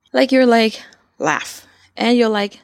Like you're like laugh and you're like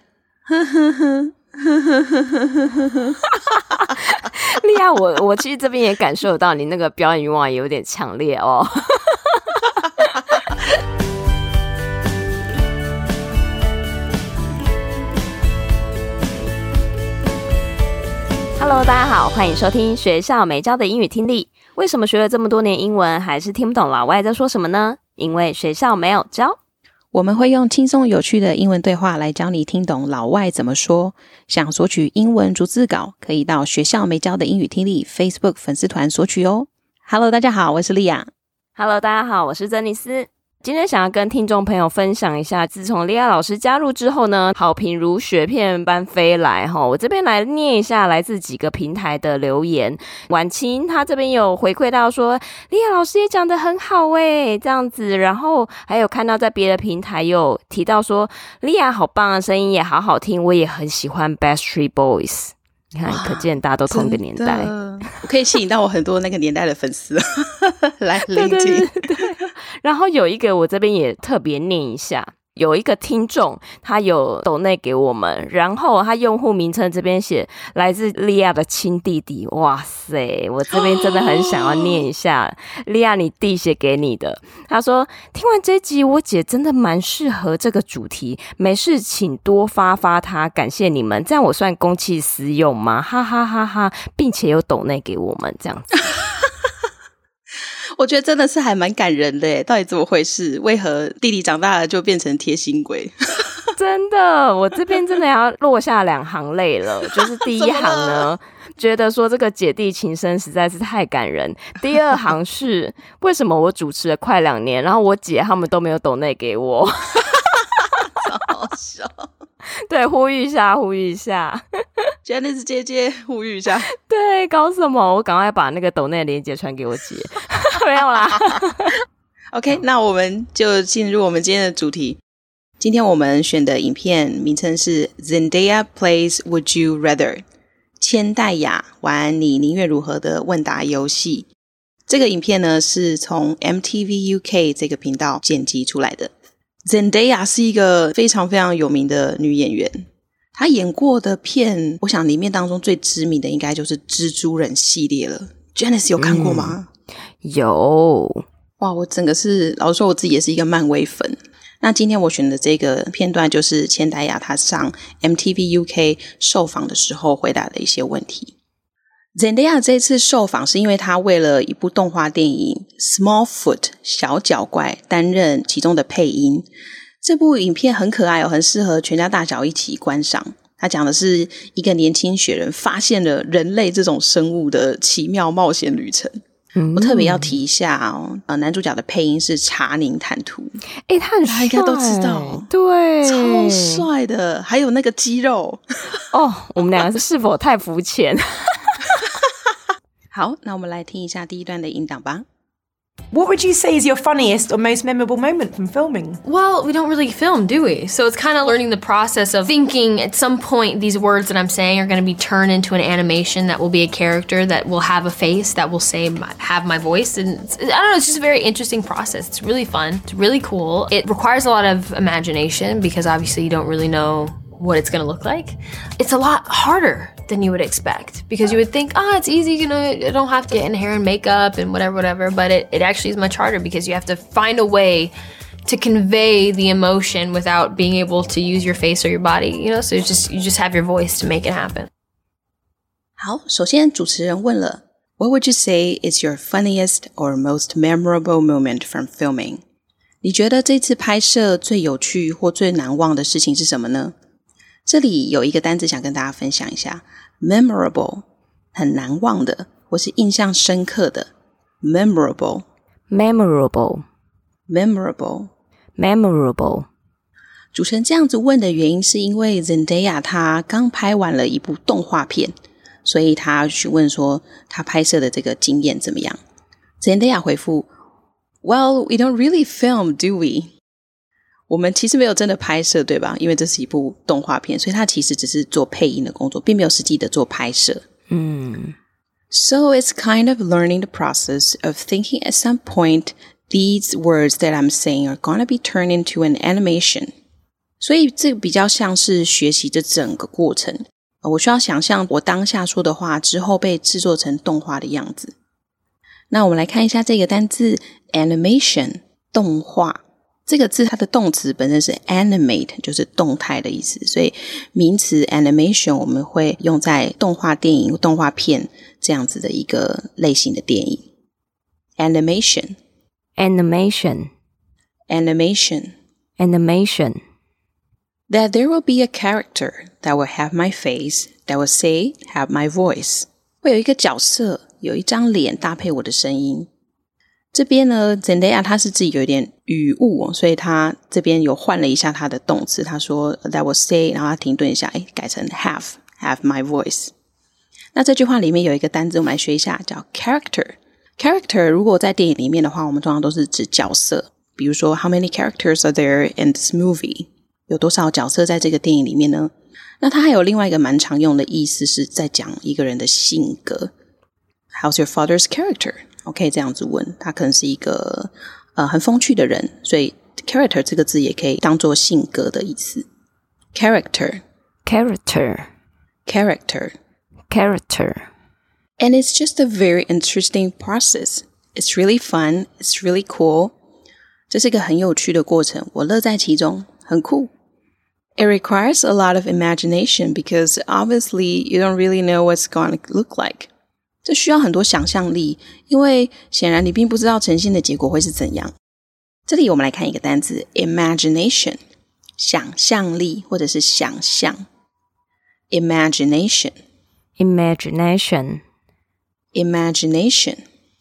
莉亞，我其實這邊也感受到你那個表演欲望也有點強烈哦。Hello， 大家好，歡迎收聽學校沒教的英語聽力。為什麼學了這麼多年英文，還是聽不懂老外在說什麼呢？因為學校沒有教。 我們會用輕鬆有趣的英文對話來教你聽懂老外怎麼說。想索取英文逐字稿，可以到學校沒教的英語聽力 Facebook 粉絲團索取哦。Hello， 大家好，我是莉亞。 Hello， 大家好，我是珍妮斯。今天想要跟聽眾朋友分享一下，自從莉亞老師加入之後呢，好評如雪片般飛來齁。我這邊來念一下來自幾個平台的留言。婉清她這邊有回饋到說，莉亞老師也講得很好耶，這樣子。然後還有看到在別的平台有提到說，莉亞好棒啊，聲音也好好聽，我也很喜歡 Backstreet Boys。你看，可見大家都同一個年代， 我可以吸引到我很多那個年代的粉絲來聆聽。 對。然後有一個我這邊也特別念一下，有一個聽眾他有抖內給我們，然後他用戶名稱這邊寫來自莉亞的親弟弟。哇塞，我這邊真的很想要念一下莉亞你弟寫給你的。他說，聽完這集我姐真的蠻適合這個主題，沒事請多發發他，感謝你們，這樣我算公器私用嗎？哈哈哈哈，並且有抖內給我們這樣子。 我覺得真的是還蠻感人的耶，到底怎麼回事？為何弟弟長大了就變成貼心鬼？ 真的，我這邊真的要落下2行淚了。就是第一行呢，覺得說這個姐弟情深實在是太感人。第二行是為什麼我主持了快2年，然後我姐他們都沒有抖內給我， 好笑。 對，呼籲一下 Janice 姐姐呼籲一下。 對，搞什麼？我趕快把那個抖內的鏈接傳給我姐。沒有啦。 OK， 那我們就進入我們今天的主題。今天我們選的影片名稱是 Zendaya Plays Would You Rather， 千代雅玩你寧願如何的問答遊戲。這個影片呢是從 MTV UK 這個頻道剪輯出來的。Zendaya 是一個非常非常有名的女演員，她演過的片，我想裡面當中最知名的應該就是蜘蛛人系列了。Janice 有看過嗎？ 有。 哇，我整個是，老實說我自己也是一個漫威粉。那今天我選的這個片段就是千代雅她上 MTV UK 受訪的時候回答的一些問題。Zendaya 這次受訪是因為她為了一部動畫電影 Smallfoot 小腳怪擔任其中的配音。這部影片很可愛哦，很適合全家大小一起觀賞。它講的是一個年輕雪人發現了人類這種生物的奇妙冒險旅程。我特別要提一下哦，男主角的配音是查寧坦圖。 他很帥， 大家應該都知道， 對， 超帥的，還有那個肌肉。 我們兩個是否太膚淺？ 好，那我們來聽一下第一段的音檔吧。 What would you say is your funniest or most memorable moment from filming? Well, we don't really film, do we? So it's kind of learning the process of thinking at some point these words that I'm saying are going to be turned into an animation that will be a character that will have a face that will have my voice. And I don't know, it's just a very interesting process. It's really fun. It's really cool. It requires a lot of imagination because obviously you don't really know what it's going to look like. It's a lot harder than you would expect because you would think, it's easy, you know, I don't have to get in hair and makeup and whatever, but it actually is much harder because you have to find a way to convey the emotion without being able to use your face or your body, you know, so you just have your voice to make it happen. 好，首先主持人問了 What would you say is your funniest or most memorable moment from filming? 你覺得這次拍攝最有趣或最難忘的事情是什麼呢？這裡有一個單字想跟大家分享一下 memorable 很難忘的或是印象深刻的 memorable 主持人這樣子問的原因是因為 Zendaya 她剛拍完了一部動畫片，所以她詢問說她拍攝的這個經驗怎麼樣。 Zendaya 回復 Well, we don't really film, do we?我們其實沒有真的拍攝，對吧？因為這是一部動畫片，所以他其實只是做配音的工作，並沒有實際的做拍攝。So it's kind of learning the process of thinking at some point These words that I'm saying are gonna be turned into an animation. 所以這比較像是學習這整個過程。我需要想象我當下說的話之後被製作成動畫的樣子。那我們來看一下這個單字 animation 動畫。這個字它的動詞本身是 animate， 就是動態的意思，所以名詞 animation 我們會用在動畫電影、動畫片這樣子的一個類型的電影。Animation Animation Animation Animation That there will be a character that will have my face, that will say, have my voice. 會有一個角色，有一張臉搭配我的聲音。這邊呢 Zendaya 他是自己有一點語誤，所以他這邊有換了一下他的動詞，他說 that will say， 然後他停頓一下，改成 have my voice。那這句話裡面有一個單字我們來學一下，叫 character。character 如果在電影裡面的話，我們通常都是指角色，比如說 how many characters are there in this movie？ 有多少角色在這個電影裡面呢？那它還有另外一個蠻常用的意思，是在講一個人的性格。How's your father's character？ OK， 這樣子問，他可能是一個很風趣的人，所以 character 這個字也可以當作性格的意思。Character Character Character Character And it's just a very interesting process. It's really fun. It's really cool. 這是一個很有趣的過程，我樂在其中，很酷。It requires a lot of imagination because obviously you don't really know what's going to look like. 這需要很多想象力，因為顯然你並不知道呈現的結果會是怎樣。這裡我們來看一個單字 imagination， 想象力或者是想象。Imagination Imagination Imagination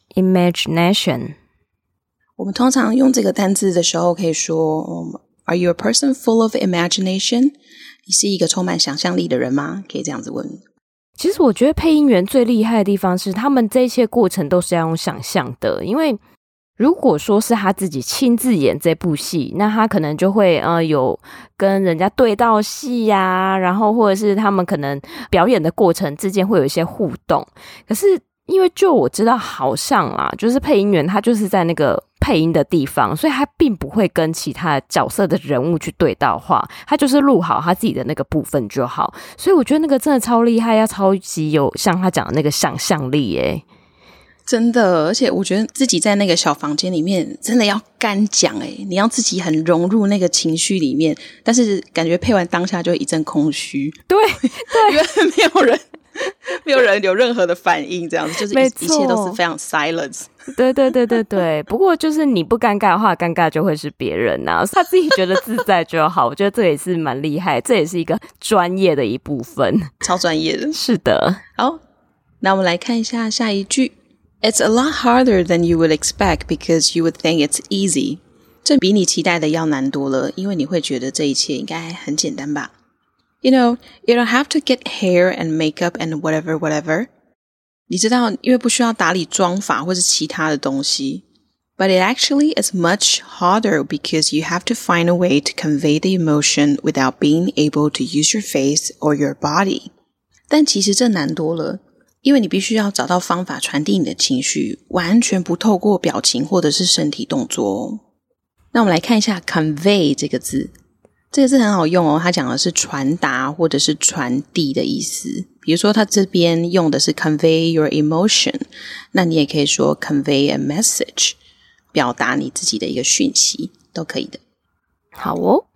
Imagination 我們通常用這個單字的時候可以說Are you a person full of imagination? 你是一個充滿想象力的人嗎？可以這樣子問。 其實我覺得配音員最厲害的地方是他們這一切過程都是要用想象的，因為如果說是他自己親自演這部戲，那他可能就會有跟人家對到戲呀，然後或者是他們可能表演的過程之間會有一些互動。可是因為就我知道好像啦，就是配音員他就是在那个配音的地方，所以他并不会跟其他角色的人物去对到话，他就是錄好他自己的那個部分就好。所以我覺得那個真的超厲害，要超級有像他講的那個想象力耶。 真的，而且我覺得自己在那個小房間裡面真的要敢講耶，你要自己很融入那個情緒裡面，但是感覺配完當下就一陣空虛。 對， 因為沒有人有任何的反應，這樣子就是一切都是非常 silence。 對，不過就是你不尷尬的話，尷尬就會是別人啊，他自己覺得自在就好。我覺得這也是蠻厲害，這也是一個專業的一部分， 超專業的。 是的。 好，那我們來看一下下一句。It's a lot harder than you would expect because you would think it's easy. 這比你期待的要難多了，因為你會覺得這一切應該很簡單吧。You know, you don't have to get hair and makeup and whatever. 你知道，因為不需要打理妝髮或是其他的東西。But it actually is much harder because you have to find a way to convey the emotion without being able to use your face or your body. 但其實這難多了，因為你必須要找到方法傳遞你的情緒，完全不透過表情或者是身體動作哦。那我們來看一下 convey 這個字。這個字很好用哦，它講的是傳達或者是傳遞的意思。比如說它這邊用的是 convey your emotion， 那你也可以說 convey a message， 表達你自己的一個訊息都可以的。 好哦。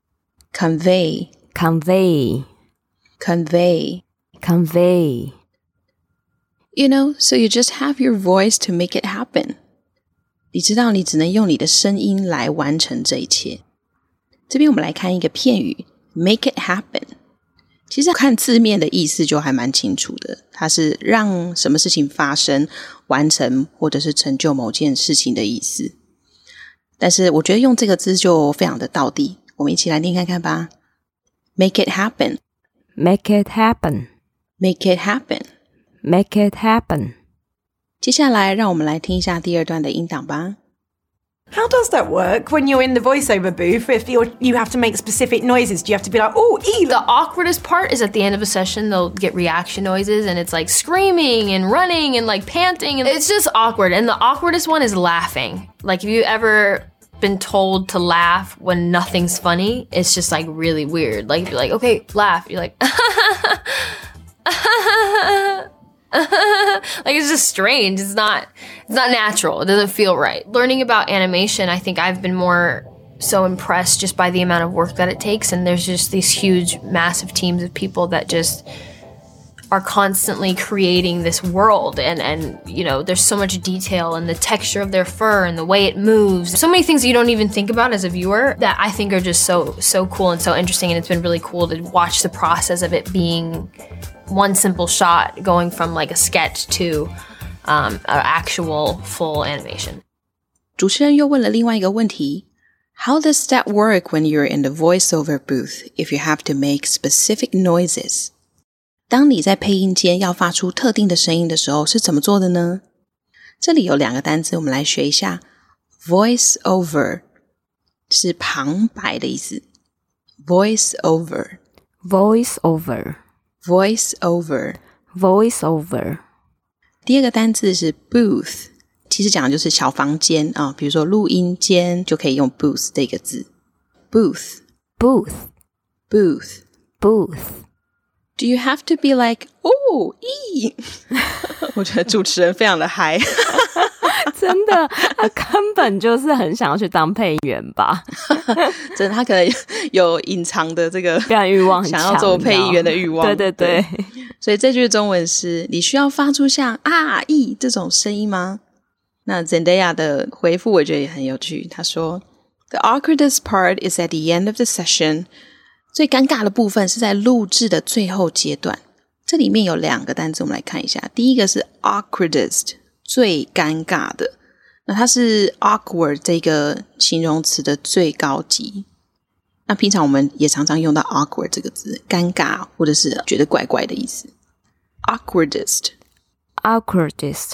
convey Convey Convey Convey You know, so you just have your voice to make it happen. 你知道你只能用你的聲音來完成這一切。這邊我們來看一個片語 make it happen。 其實看字面的意思就還蠻清楚的，它是讓什麼事情發生、完成或者是成就某件事情的意思。但是我覺得用這個字就非常的道地，我們一起來念看看吧。 Make it happen Make it happen Make it happen Make it happen 接下來讓我們來聽一下第二段的音檔吧。 How does that work when you're in the voiceover booth? If you have to make specific noises, do you have to be like, oh, The awkwardest part is at the end of a session, they'll get reaction noises and it's like screaming and running and like panting. And it's just awkward. And the awkwardest one is laughing. Like, if you ever been told to laugh when nothing's funny, it's just like really weird. Like, if you're like, okay, laugh. You're like, like, it's just strange. It's not natural. It doesn't feel right. Learning about animation, I think I've been more so impressed just by the amount of work that it takes. And there's just these huge, massive teams of people that just are constantly creating this world. And you know, there's so much detail and the texture of their fur and the way it moves. So many things you don't even think about as a viewer that I think are just so cool and so interesting. And it's been really cool to watch the process of it being one simple shot going from like a sketch to an actual full animation. 主持人又问了另外一个问题 How does that work when you're in the voiceover booth if you have to make specific noises? 當你在配音間要發出特定的聲音的時候是怎麼做的呢？這裡有兩個單字我們來學一下 Voiceover 是旁白的意思 Voiceover Voiceover Voiceover Voiceover 第二個單字是 booth 其實講的就是小房間啊，比如說錄音間就可以用 booth 這個字 Booth Booth Booth Booth Do you have to be like, oh, 我覺得主持人非常的嗨真的他根本就是很想要去當配音員吧真的他可能有隱藏的這個表演慾望很強， 想要做配音員的慾望對對對所以這句中文是你需要發出像啊咦這種聲音嗎？那 Zendaya 的回復我覺得也很有趣，他說 The awkwardest part is at the end of the session最尷尬的部分是在錄製的最後階段這裡面有兩個單字我們來看一下第一個是 awkwardest 最尷尬的那它是 awkward 這個形容詞的最高級那平常我們也常常用到 awkward 這個字尷尬或者是覺得怪怪的意思 awkwardest Awkwardest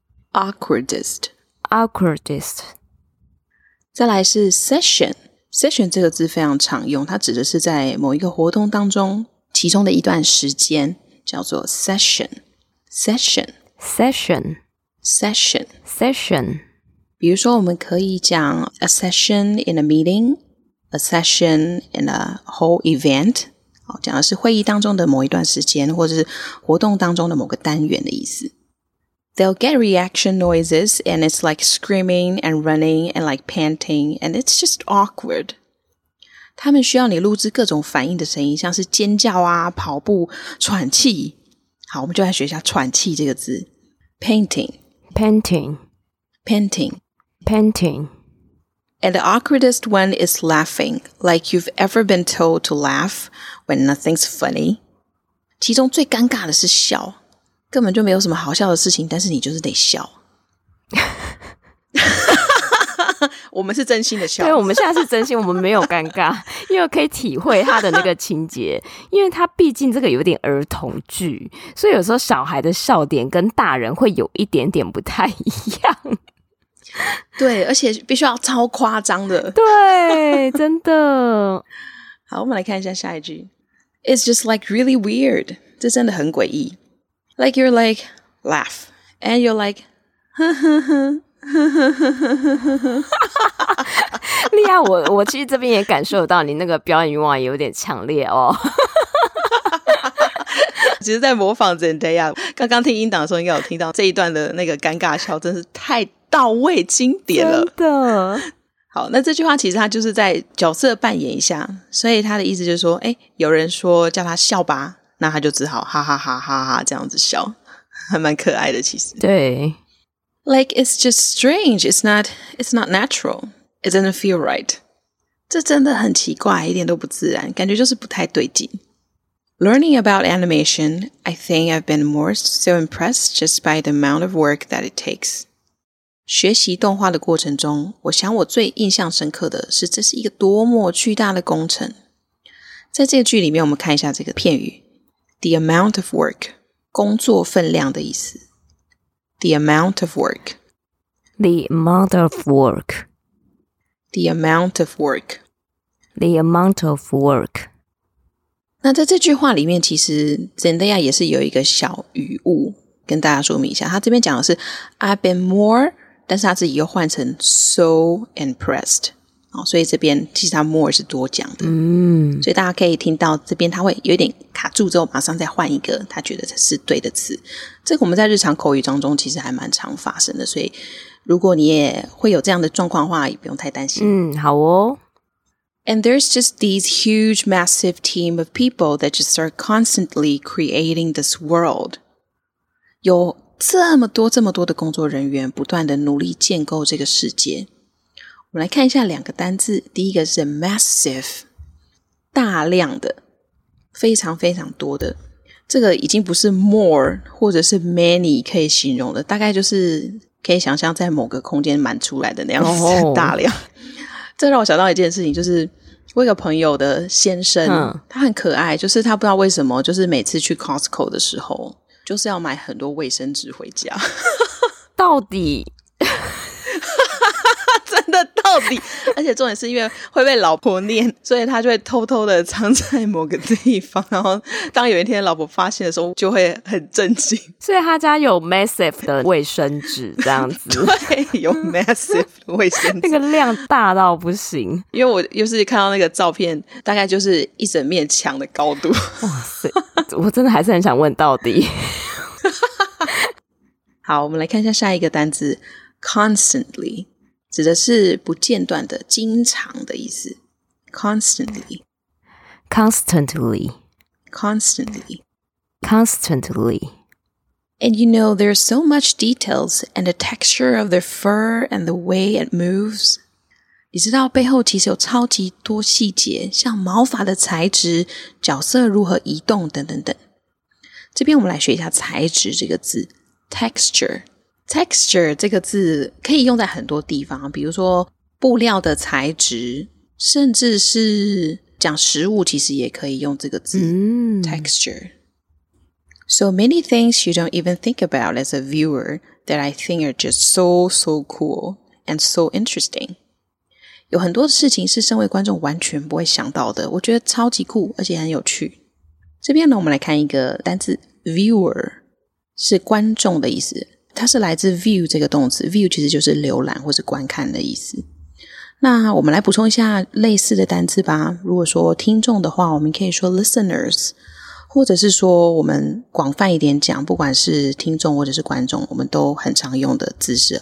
Awkwardest Awkwardest 再來是 session Session 這個字非常常用它指的是在某一個活動當中其中的一段時間叫做 session Session Session Session Session 比如說我們可以講 a session in a meeting A session in a whole event 講的是會議當中的某一段時間或者是活動當中的某個單元的意思They'll get reaction noises and it's like screaming and running and like panting and it's just awkward. 他們需要你錄製各種反應的聲音，像是尖叫啊、跑步、喘氣。好，我們就來學一下喘氣這個字。Panting. Panting. Panting. Panting. And the awkwardest one is laughing, like you've ever been told to laugh when nothing's funny. 其中最尷尬的是笑。根本就沒有什麼好笑的事情但是你就是得笑我們是真心的笑對我們現在是真心我們沒有尷尬因為可以體會他的那個情節因為他畢竟這個有點兒童劇所以有時候小孩的笑點跟大人會有一點點不太一樣對而且必須要超誇張的對真的好我們來看一下下一句 It's just like really weird 這真的很詭異Like you're like, laugh. And you're like, 莉亞我其實這邊也感受到你那個表演慾望也有點強烈哦其實在模仿 Zendaya 剛剛聽音檔的時候應該有聽到這一段的那個尷尬笑真是太到位經典了真的好那這句話其實他就是在角色扮演一下所以他的意思就是說有人說叫他笑吧那他就只好哈哈哈哈哈這樣子笑還蠻可愛的其實對 Like it's just strange it's not natural It doesn't feel right 這真的很奇怪一點都不自然感覺就是不太對勁 Learning about animation I think I've been more so impressed just by the amount of work that it takes 學習動畫的過程中我想我最印象深刻的是這是一個多麼巨大的工程在這個句裡面我們看一下這個片語The amount of work 工作分量的意思 The amount of work The amount of work The amount of work. The amount of work. 那在这句話裡面，其實 Zendaya 也是有一個小語誤跟大家說明一下。他這邊講的是 I've been more， 但是他自己又換成 so impressed。所以這邊其實他 more 是多講的。所以大家可以聽到這邊他會有一點卡住之後，馬上再換一個他覺得是對的詞。這個我們在日常口語當中其實還蠻常發生的，所以如果你也會有這樣的狀況的話，也不用太擔心。 好哦。 And there's just these huge, massive team of people that just are constantly creating this world. 有這麼多的工作人員不斷的努力建構這個世界。我們來看一下2個單字，第一個是 massive， 大量的，非常非常多的。這個已經不是 more 或者是 many 可以形容的，大概就是可以想象在某個空間滿出來的那樣子大量。這讓我想到一件事情，就是我有個朋友的先生，他很可愛，就是他不知道為什麼，就是每次去 Costco 的時候，就是要買很多衛生紙回家。 到底真的到底，而且重點是因為會被老婆念，所以他就會偷偷的藏在某個地方，然後當有一天老婆發現的時候就會很震驚。 所以他家有 massive 的衛生紙這樣子。 對，有 massive 的衛生紙。 那個量大到不行。 因為我又是看到那個照片，大概就是一整面牆的高度。 哇塞，我真的還是很想問到底。 好，我們來看一下下一個單字 constantly， 指的是不間斷的、經常的意思。Constantly. And you know, there's so much details and the texture of their fur and the way it moves. 你知道背後其實有超級多細節，像毛髮的材質、角色如何移動等等等。這邊我們來學一下材質這個字。Texture 這個字可以用在很多地方，比如說布料的材質，甚至是講食物其實也可以用這個字。Texture. So many things you don't even think about as a viewer that I think are just so cool and so interesting. 有很多事情是身為觀眾完全不會想到的，我覺得超級酷，而且很有趣。這邊呢，我們來看一個單字 viewer， 是觀眾的意思，它是來自 view 這個動詞， view 其實就是瀏覽或是觀看的意思。那我們來補充一下類似的單字吧。如果說聽眾的話，我們可以說 listeners， 或者是說我們廣泛一點講，不管是聽眾或者是觀眾，我們都很常用的字是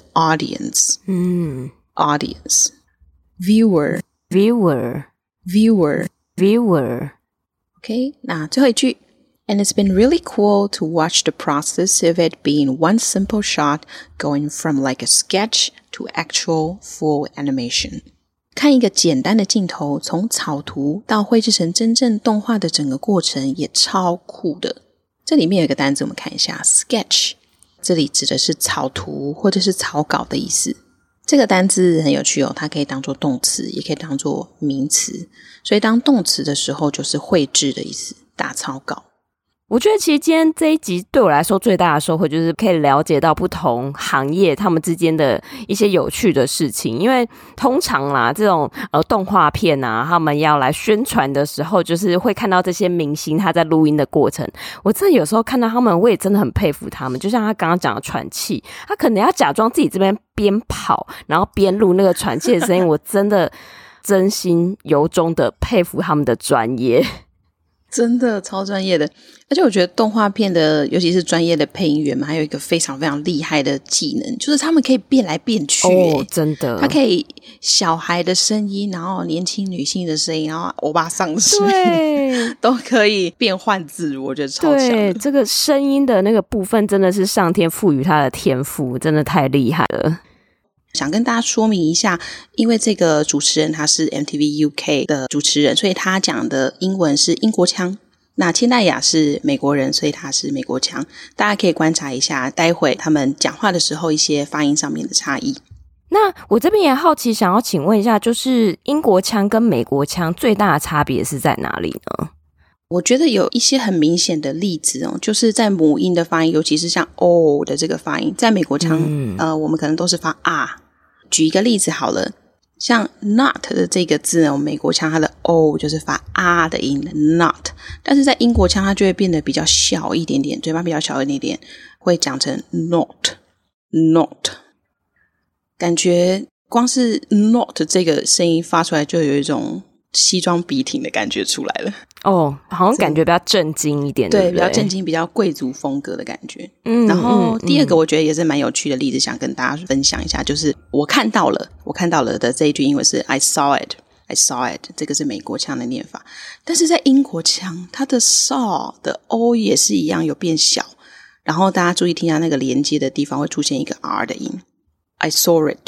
audience。Audience。Viewer。OK， 那最後一句 And it's been really cool to watch the process of it being one simple shot going from like a sketch to actual full animation. 看一個簡單的鏡頭從草圖到繪製成真正動畫的整個過程也超酷的。這裡面有一個單字我們看一下 sketch， 這裡指的是草圖或者是草稿的意思。這個單字很有趣哦，它可以當作動詞也可以當作名詞，所以當動詞的時候就是繪製的意思，打草稿。 我覺得其實今天這一集對我來說最大的收穫就是可以了解到不同行業他們之間的一些有趣的事情，因為通常啦這種動畫片啊，他們要來宣傳的時候，就是會看到這些明星他在錄音的過程，我真的有時候看到他們，我也真的很佩服他們。就像他剛剛講的喘氣，他可能要假裝自己這邊邊跑，然後邊錄那個喘氣的聲音，我真的真心由衷的佩服他們的專業。 真的超專業的，而且我覺得動畫片的尤其是專業的配音員嘛，還有一個非常非常厲害的技能，就是他們可以變來變去。 真的，他可以小孩的聲音，然後年輕女性的声音，然后歐巴桑的聲音，都可以變換自如，我覺得超強的。 对，這個聲音的那個部分真的是上天賦予他的天賦，真的太厲害了。 想跟大家說明一下，因為這個主持人他是 MTV UK 的主持人，所以他講的英文是英國腔。那千代雅是美國人，所以他是美國腔。大家可以觀察一下，待會他們講話的時候一些發音上面的差異。 那我這邊也好奇，想要請問一下，就是英國腔跟美國腔最大的差別是在哪裡呢？ 我覺得有一些很明顯的例子哦，就是在母音的發音，尤其是像 O 的這個發音，在美國腔我們可能都是發啊。舉一個例子好了， 像 not 的這個字呢，美國腔它的 o 就是發啊的音 not， 但是在英國腔它就會變得比較小一點點，嘴巴比較小一點點，會講成 not， 感覺光是 not 這個聲音發出來就有一種西裝筆挺的感覺出來了。 哦，好像感覺比較正經一點， 对， 对不对？ 比較正經，比較貴族風格的感覺。然後第二個我覺得也是蠻有趣的例子，想跟大家分享一下，就是我看到了的這一句英文是 I saw it， 這個是美國腔的念法，但是在英國腔，它的 saw 的 o 也是一樣有變小，然後大家注意聽下那個連接的地方會出現一個 r 的音 I saw it，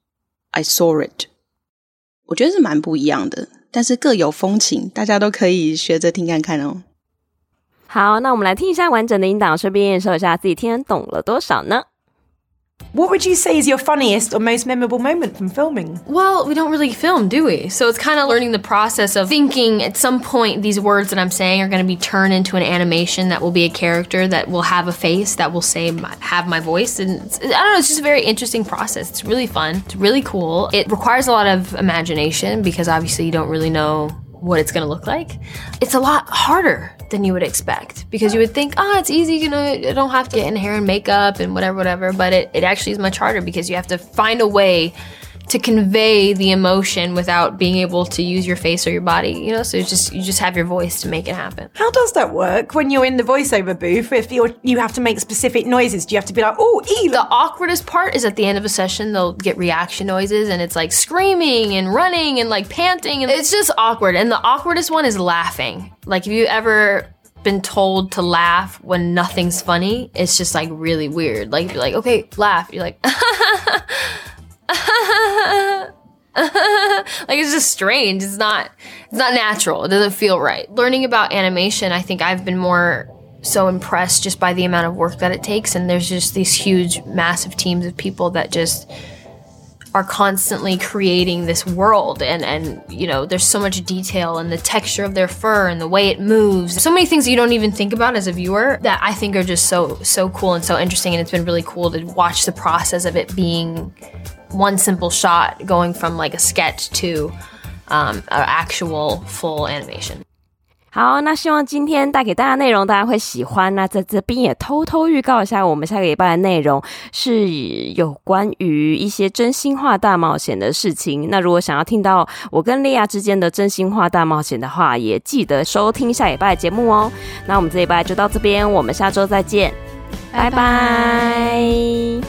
我覺得是蠻不一樣的，但是各有風情，大家都可以學着聽看看哦。 好，那我们来聽一下完整的音檔，順便驗收一下自己聽懂了多少呢？ What would you say is your funniest or most memorable moment from filming? Well, we don't really film, do we? So it's kind of learning the process of thinking at some point these words that I'm saying are going to be turned into an animation that will be a character that will have a face that will have my voice. And I don't know, it's just a very interesting process. It's really fun. It's really cool. It requires a lot of imagination because obviously you don't really know what it's going to look like. It's a lot harder than you would expect because you would think, it's easy, I don't have to get in hair and makeup and whatever, but it actually is much harder because you have to find a way to convey the emotion without being able to use your face or your body, so you just have your voice to make it happen. How does that work when you're in the voiceover booth? If you have to make specific noises, do you have to be like, The awkwardest part is at the end of a session, they'll get reaction noises and it's like screaming and running and like panting. And it's just awkward. And the awkwardest one is laughing. Like, have you ever been told to laugh when nothing's funny? It's just like really weird. Like, you're like, okay, laugh. You're like, like, it's just strange. It's not natural. It doesn't feel right. Learning about animation, I think I've been more so impressed just by the amount of work that it takes. And there's just these huge, massive teams of people that just are constantly creating this world. And there's so much detail and the texture of their fur and the way it moves. So many things you don't even think about as a viewer that I think are just so cool and so interesting. And it's been really cool to watch the process of it being one simple shot going from like a sketch to an actual full animation. 好，那希望今天带給大家內容大家會喜歡。那在這邊也偷偷預告一下，我們下個禮拜的內容是有關於一些真心話大冒險的事情。那如果想要聽到我跟莉亞之間的真心話大冒險的話，也記得收聽下禮拜的節目哦。那我們這禮拜就到這邊，我們下周再見，拜拜。